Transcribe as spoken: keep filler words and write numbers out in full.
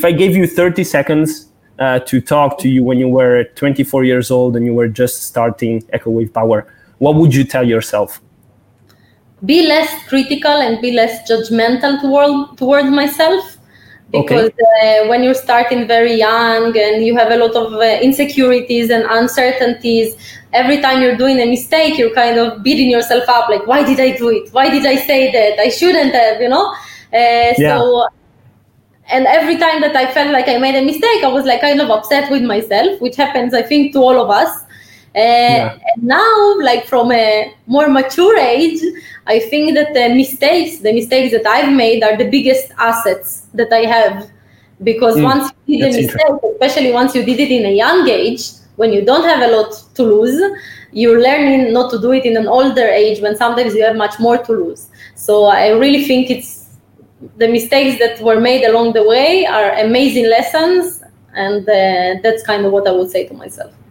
if I gave you thirty seconds uh, to talk to you when you were twenty-four years old and you were just starting Echo Wave Power, what would you tell yourself? Be less critical and be less judgmental toward, towards myself. Because okay. uh, when you're starting very young and you have a lot of uh, insecurities and uncertainties, every time you're doing a mistake, you're kind of beating yourself up. Like, why did I do it? Why did I say that? I shouldn't have, you know? Uh, yeah. So, and every time that I felt like I made a mistake, I was like kind of upset with myself, which happens, I think, to all of us. Uh, yeah. And now, like from a more mature age, I think that the mistakes, the mistakes that I've made are the biggest assets that I have. Because mm, once you did a mistake, especially once you did it in a young age, when you don't have a lot to lose, you're learning not to do it in an older age when sometimes you have much more to lose. So I really think it's the mistakes that were made along the way are amazing lessons. And uh, that's kind of what I would say to myself.